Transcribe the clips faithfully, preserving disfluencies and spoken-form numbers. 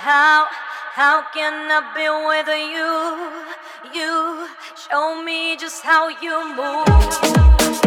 How, how can I be with you? You show me just how you move.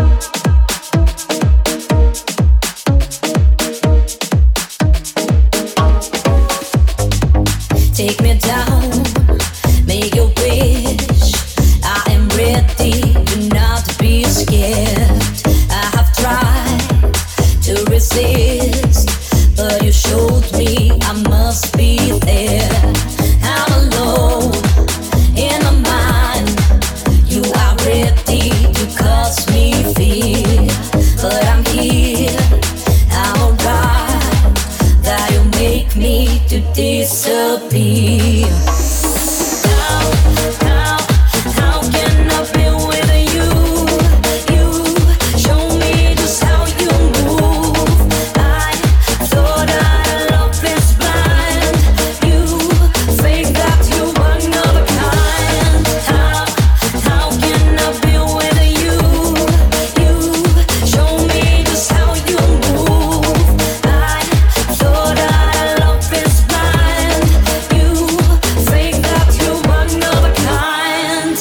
Take me down, make your wish. I am ready, do not be scared. I have tried to resist, but you showed me I must be there. I'm alone in my mind. You are ready to cause me fear, but I'm here, I'm alright. That you make me to disappear. How, how, how can I be with you? You show me just how you move. I thought our love is blind. You fake that you are another kind. How, how can I be with you? You show me just how you move. I thought our love is blind. You fake that you are another kind.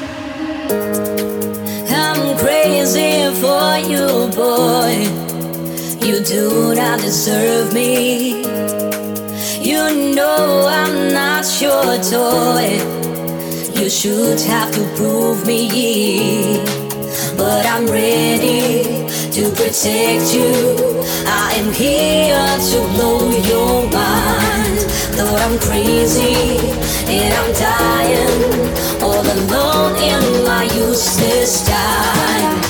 I'm crazy for you, boy. You do not deserve me. You know I'm not your toy. You should have to prove me, but I'm ready to protect you. I am here to blow your mind. Though I'm crazy and I'm dying, all alone in my useless time.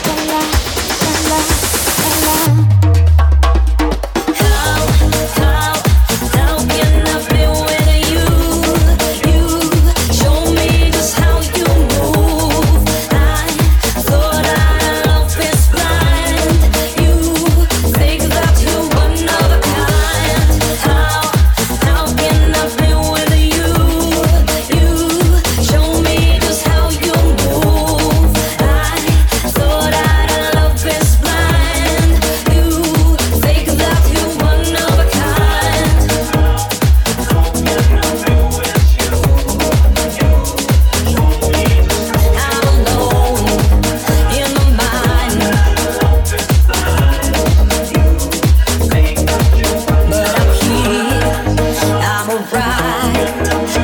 How, how, how can I be with you? You show me just how you move. I thought our love is blind. You think that you are another kind. How, how can I be with you? You show me just how you move. I thought our love is blind. You think that you are another kind. I'm alone in my mind, but I'm here, I'm alright.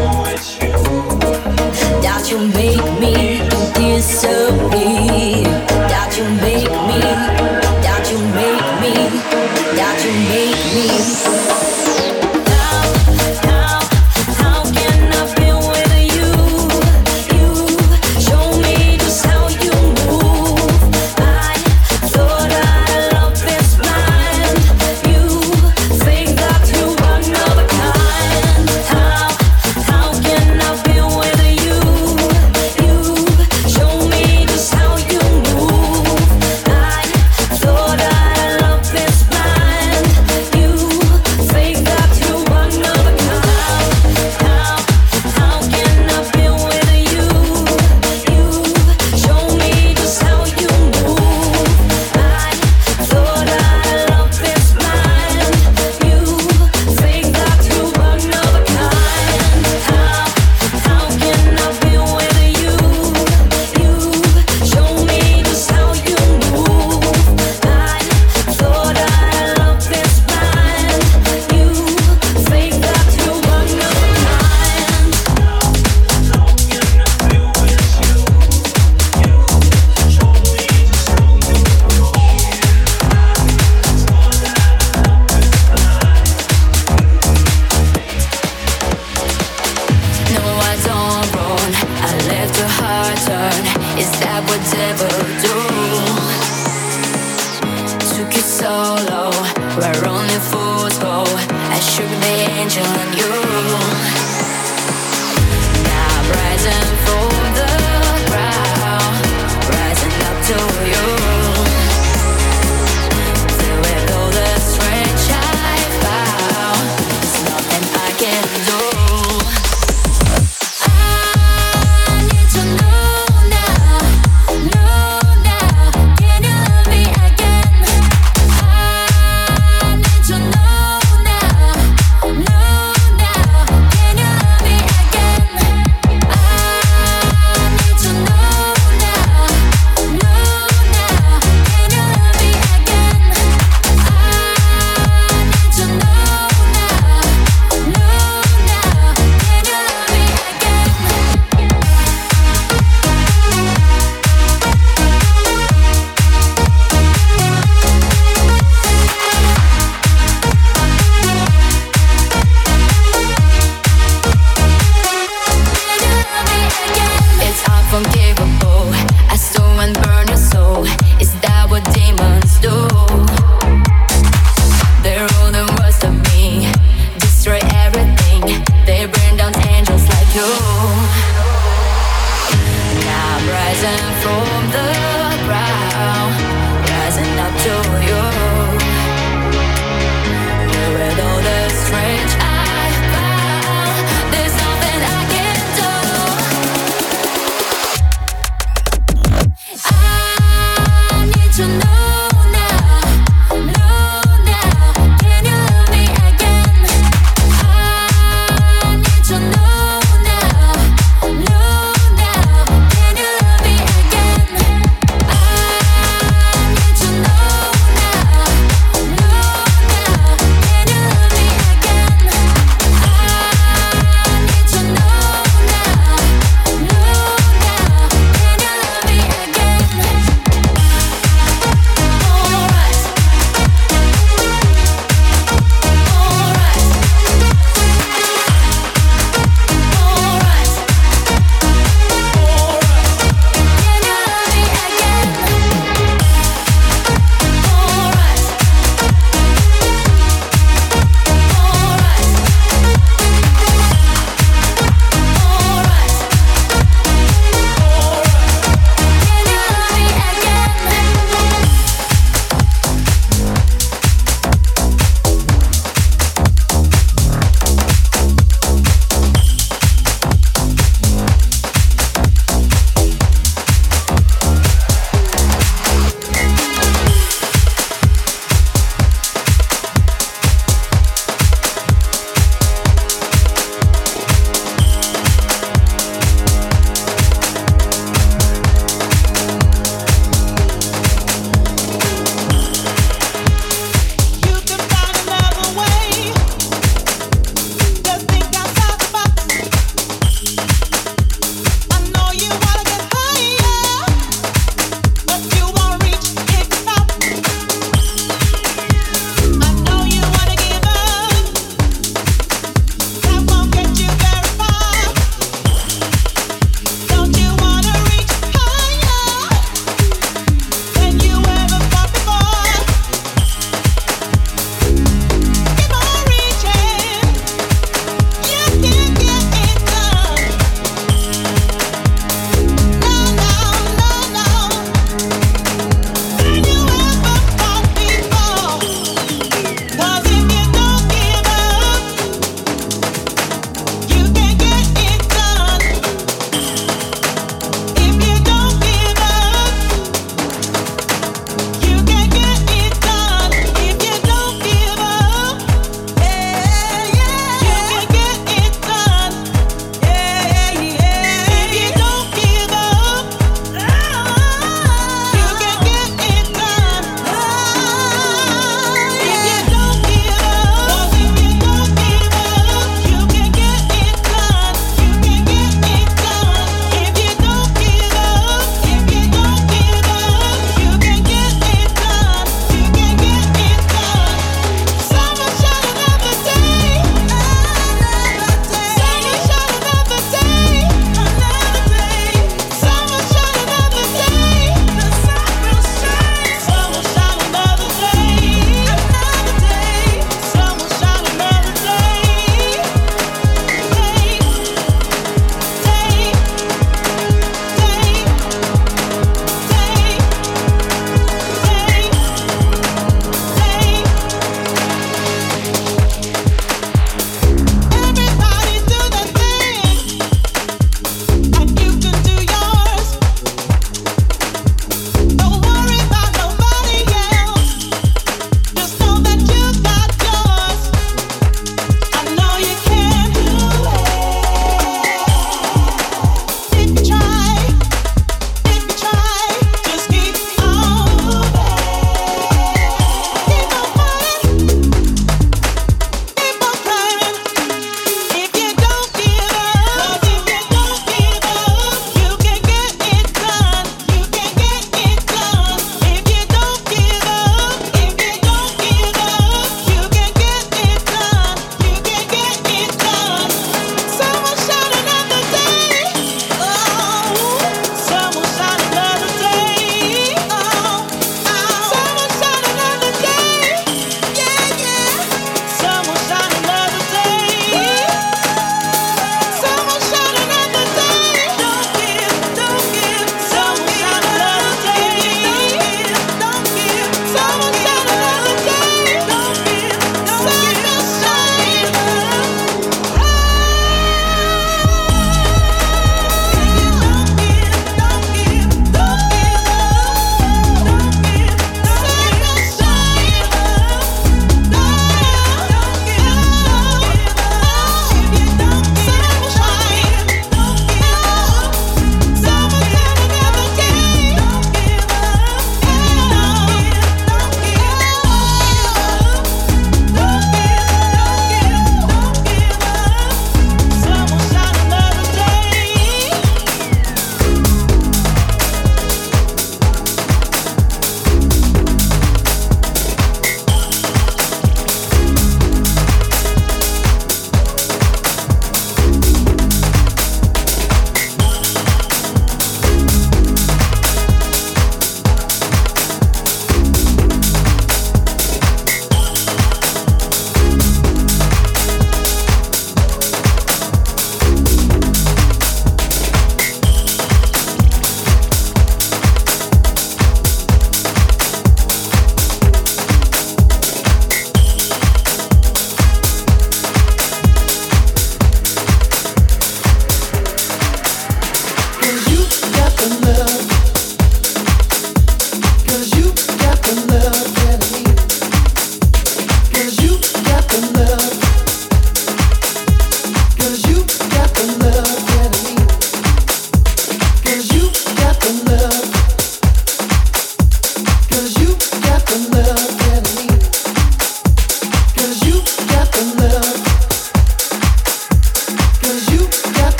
That you make me disappear. That you make me, that you make me, that you make me. How, how, how can I be with you? You show me just how you move. I thought our love is blind. You think that you are another kind. How, how can I be with you? You show me just how you move. I thought our love is blind. You think that you are another kind. How, how can I be with you? You show me just how you move. I thought our love is blind. You think that you are another kind. How, how can I be with you? You show me just how you move. I thought our love is blind. You think that you are another kind. No, I don't run. I left your heart turn. Is that what devil do? Took it solo, where only fools go. I shook the angel on you. Now I'm rising from the ground, rising up to you. There we go, the strength I found. There's nothing I can do. I need to know now, know now. Can you love me again? I need to know now, know now.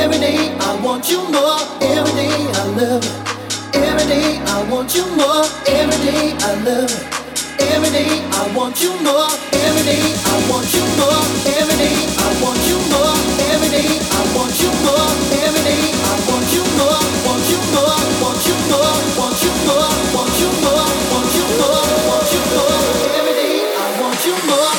Every day I want you more. Every day I love it. Every day I want you more. Every day I love it. Every day I want you more. Every day I want you more. Every day I want you more. Every day I want you more. Every day I want you more. Want you more. Want you more. Want you more. Want you more. Want you more. Want you more. Every day I want you more.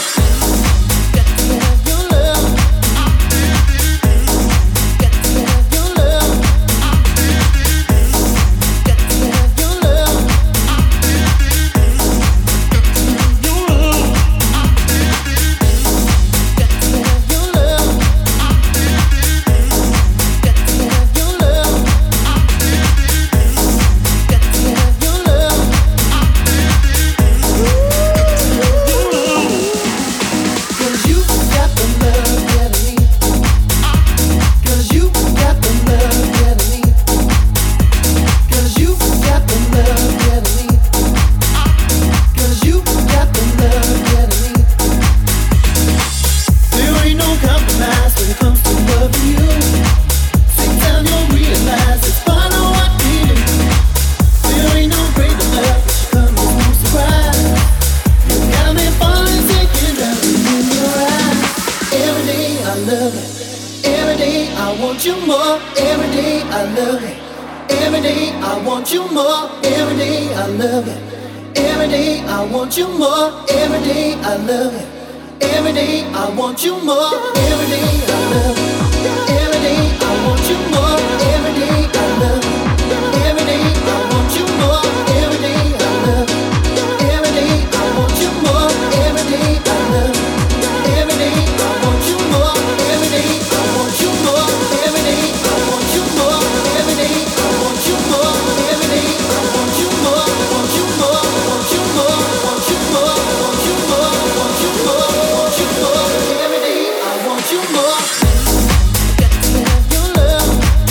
Got to have your love.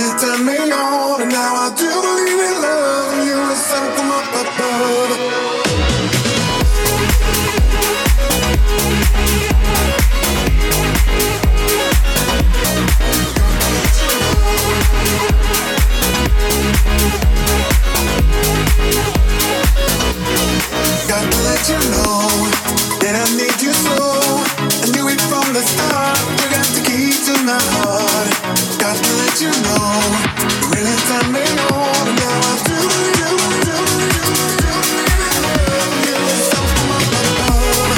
really turned me on, and now I do believe in love, and you were sent from up above. Got to let you know that I need you so. I knew it from the start. You got the key to my heart. Got to let you know you really turned me on, and now I do, do, do, do, do, love you. Something up above.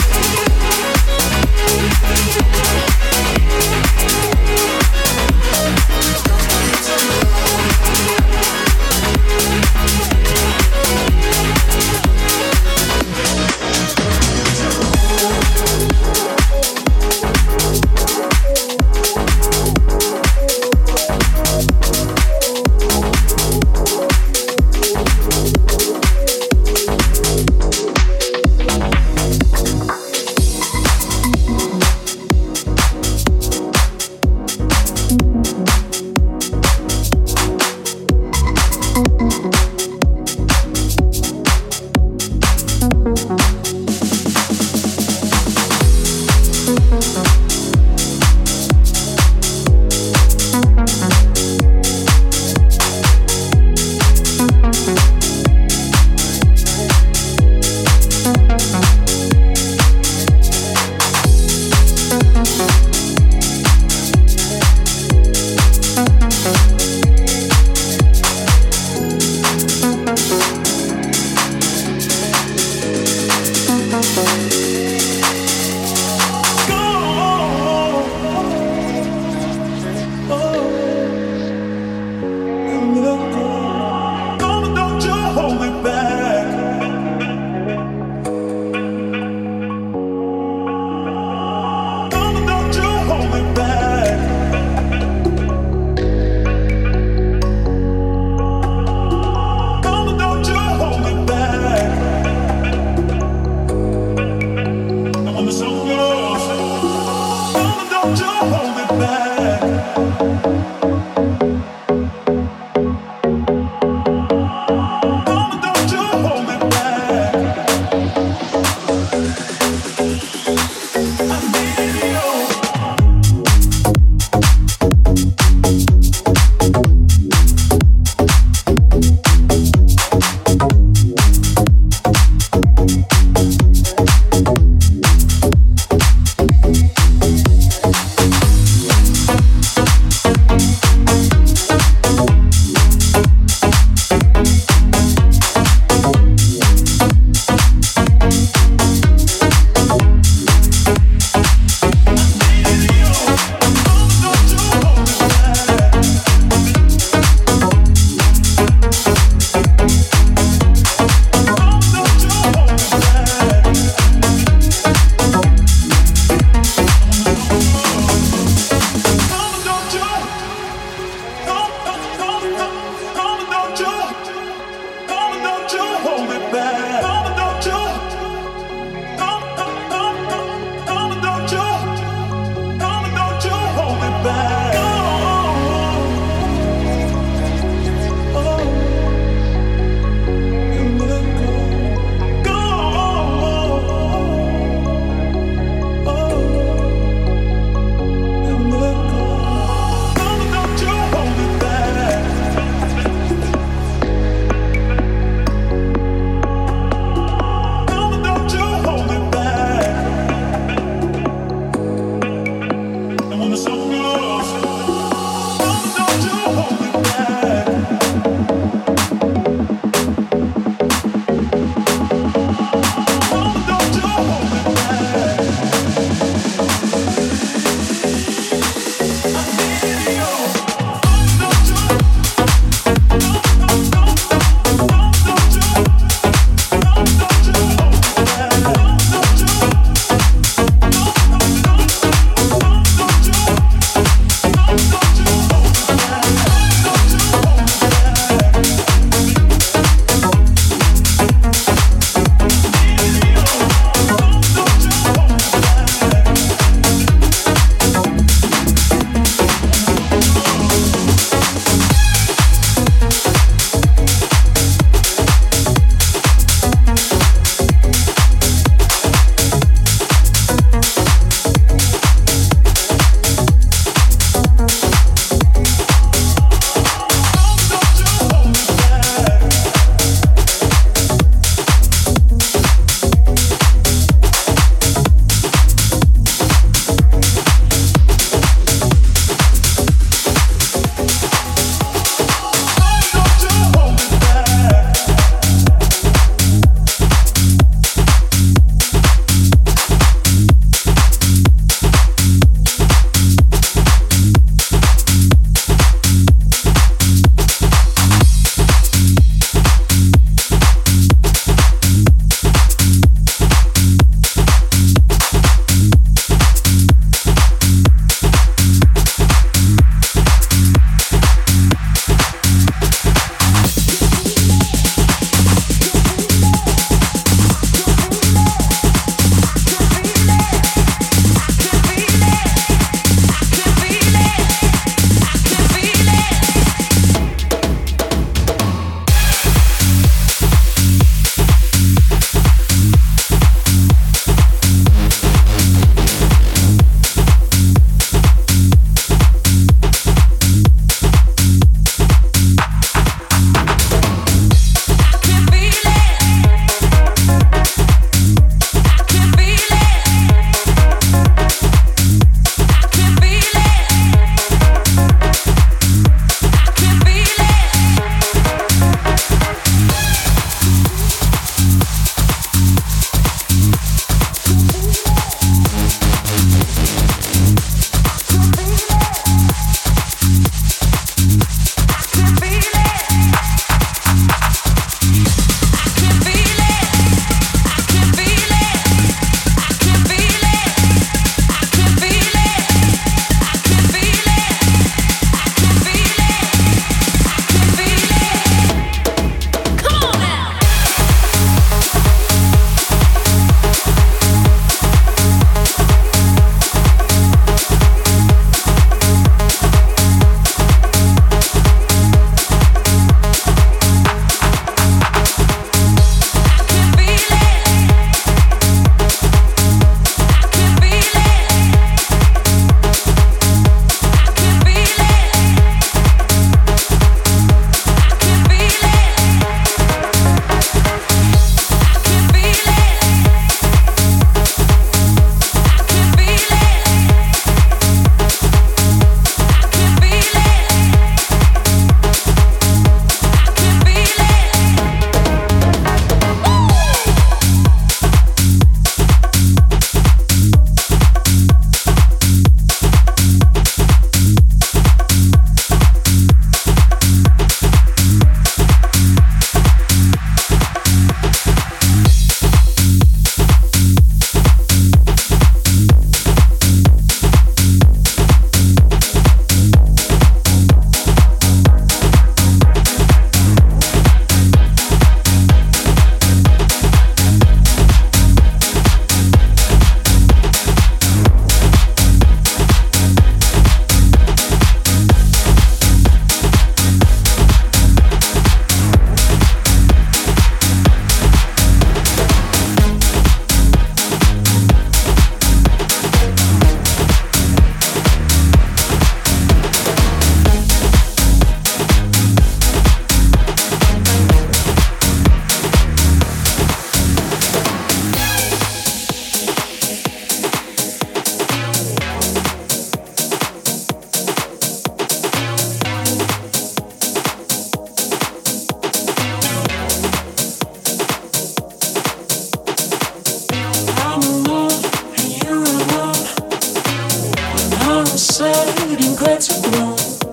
getting glad to grow.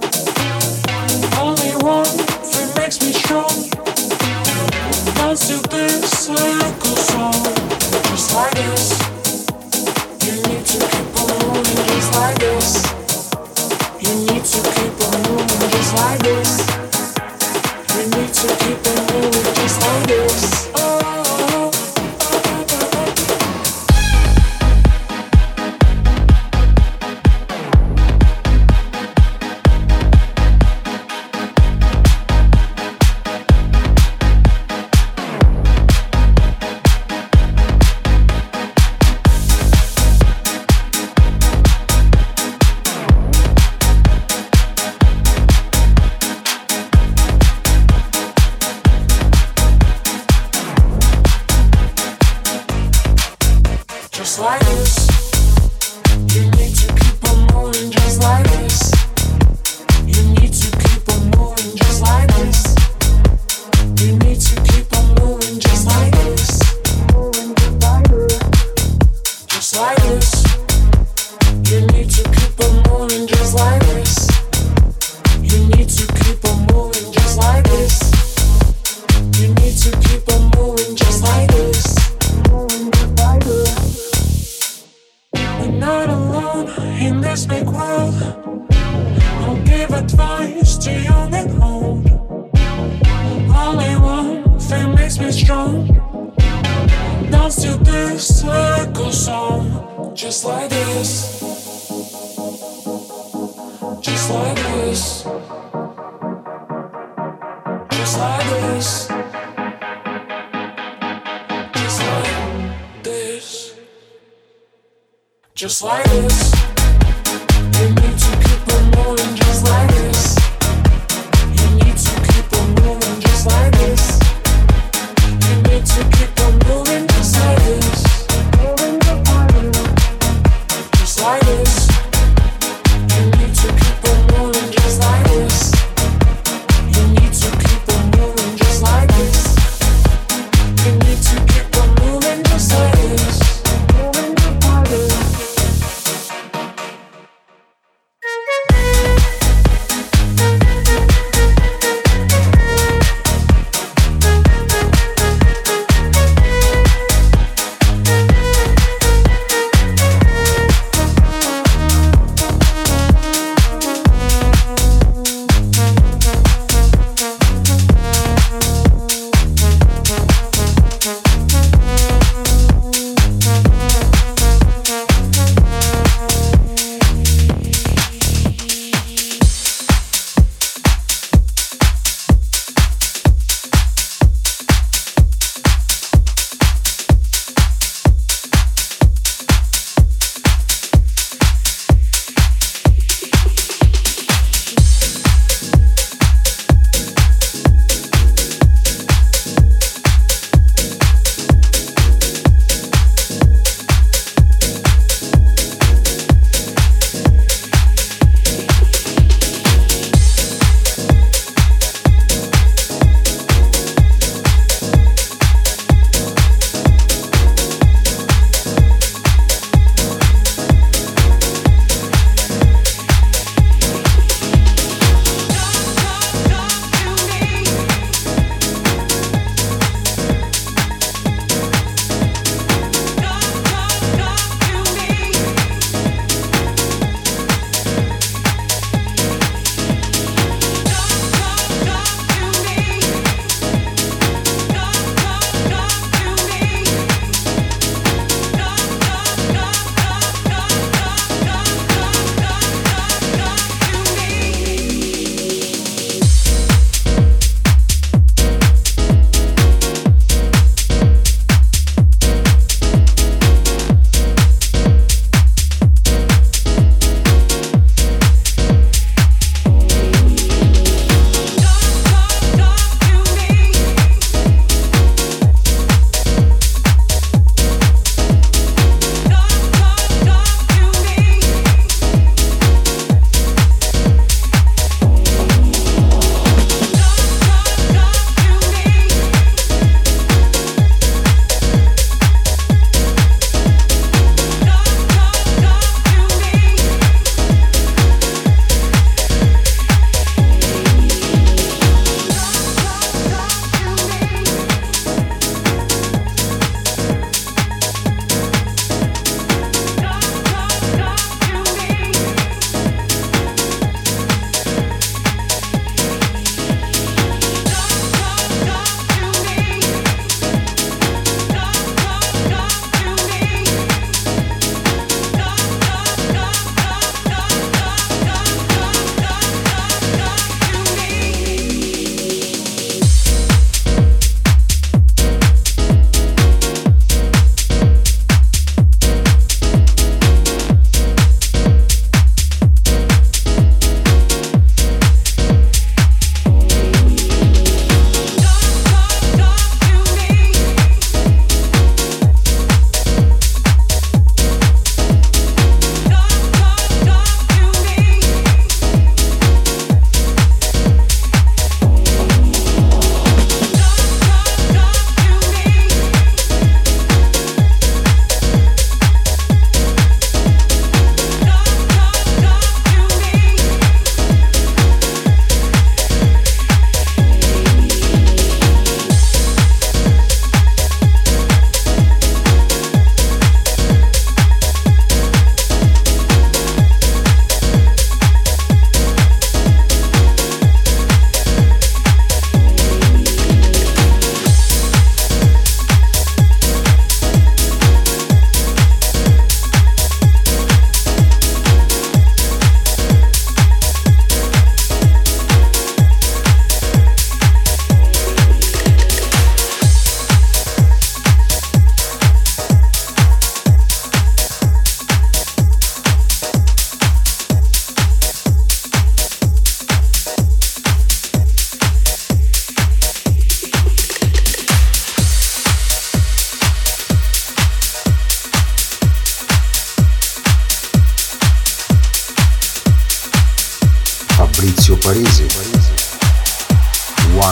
Only one thing makes me strong. Dance to this circle song. Just like this. You need to keep on moving just like this. You need to keep on moving just like this. You need to keep on moving just like this. Oh. Just like this. You need to keep on moving just like this. You need to keep on moving just like this. You need to keep on moving just like this. Just like this. You need to keep on moving just like this. You need to keep on moving just like this. You need to keep on moving just like this. We're not alone in this big world. I'll give advice to young and old. Only one thing makes me strong. Dance to this circle song. Just like this. Just like this. Just like this. Just like this. Just like this. You need to keep on moving just like this. You need to keep on moving just like this. You need to keep on moving just like this. Just like this. You need to keep on moving just like this. You need to keep on moving just like this. You need to keep on moving just like this.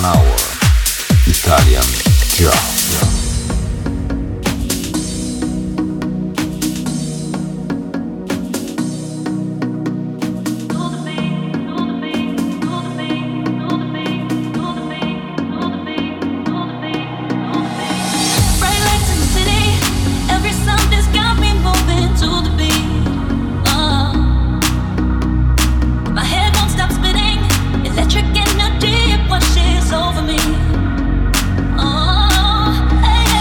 One Hour Italian Jazz. Electric energy, it washes over me. Oh, hey.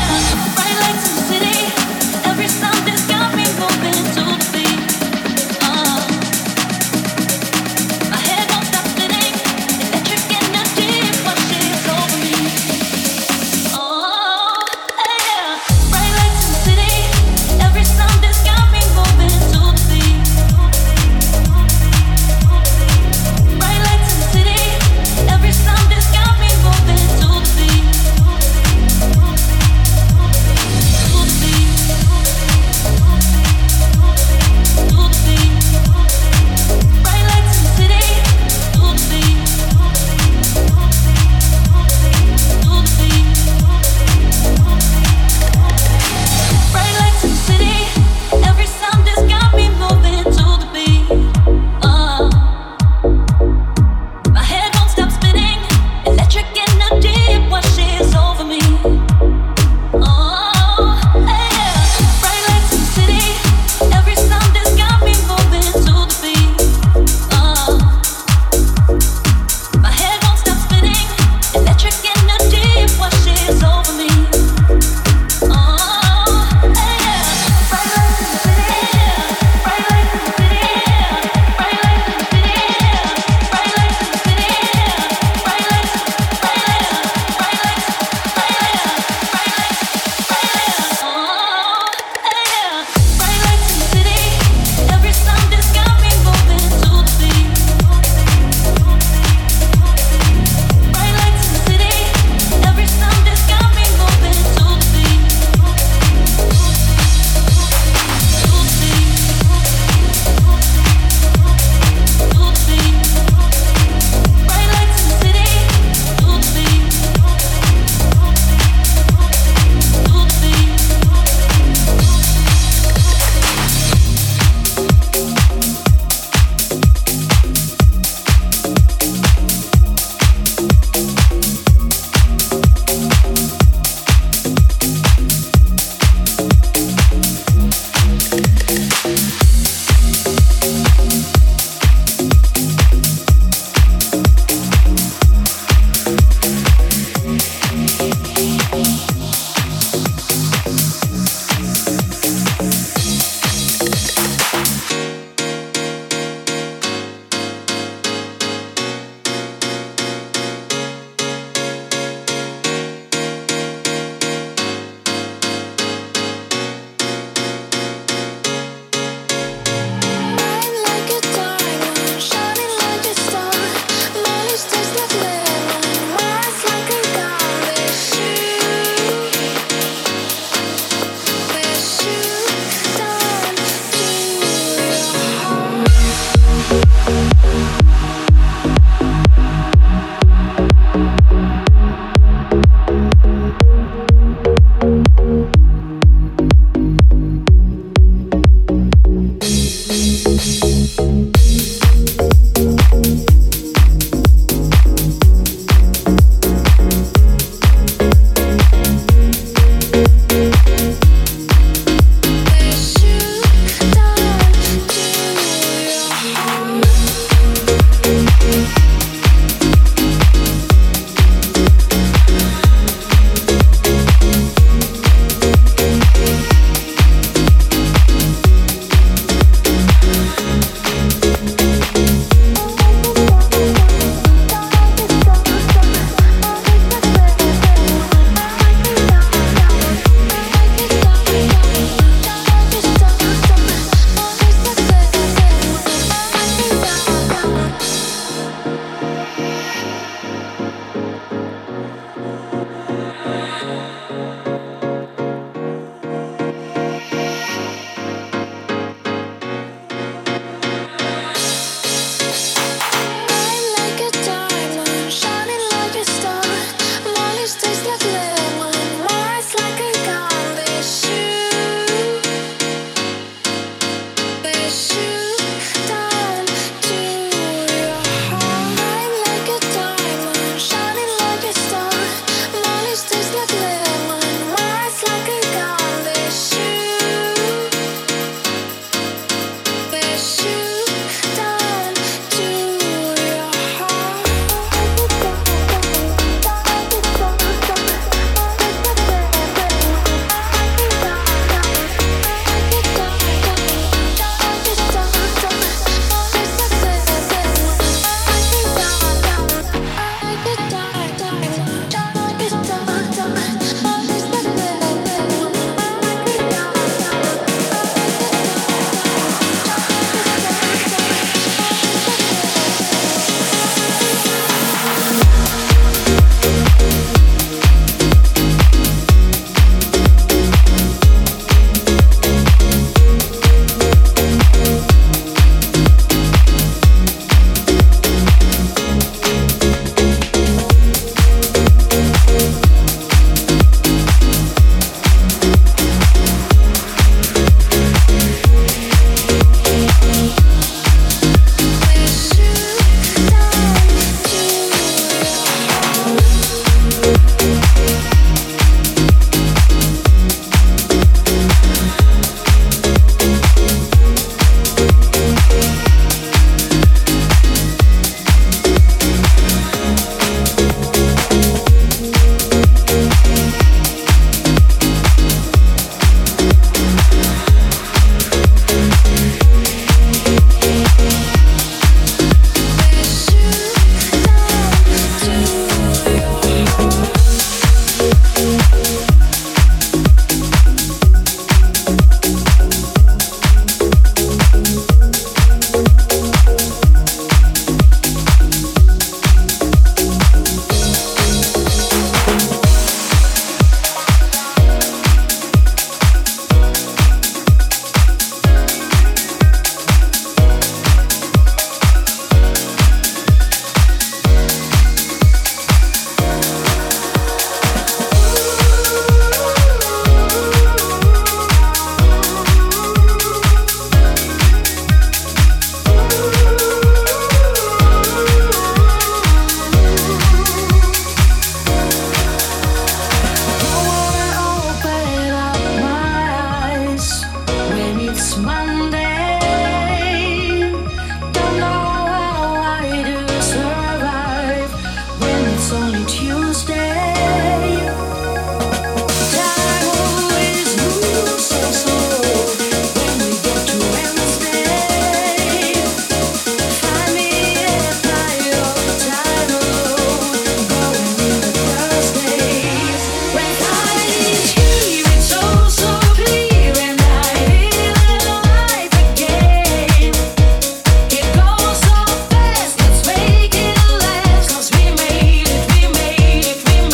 We made it, we made it, we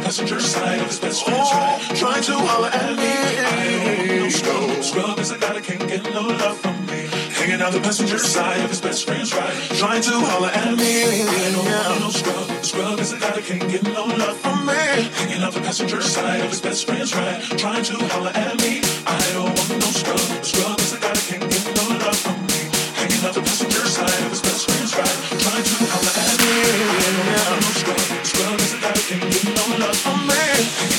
passenger side of his best friend's ride, trying to holler at me. I don't want no scrub. Scrub is a guy that can't get no love from me. Hanging out the passenger side of his best friend's ride, trying to holler at me. I don't want no scrub. Scrub is a guy that can't get no love from me. Hanging out the passenger side of his best friend's ride, trying to holler at me. I don't want no scrub. Scrub is a guy that can't get no love from me. Hanging out the passenger side of his best friend's ride, trying to holler at me. I don't want no scrub. Scrub is a guy that can't get no love from me.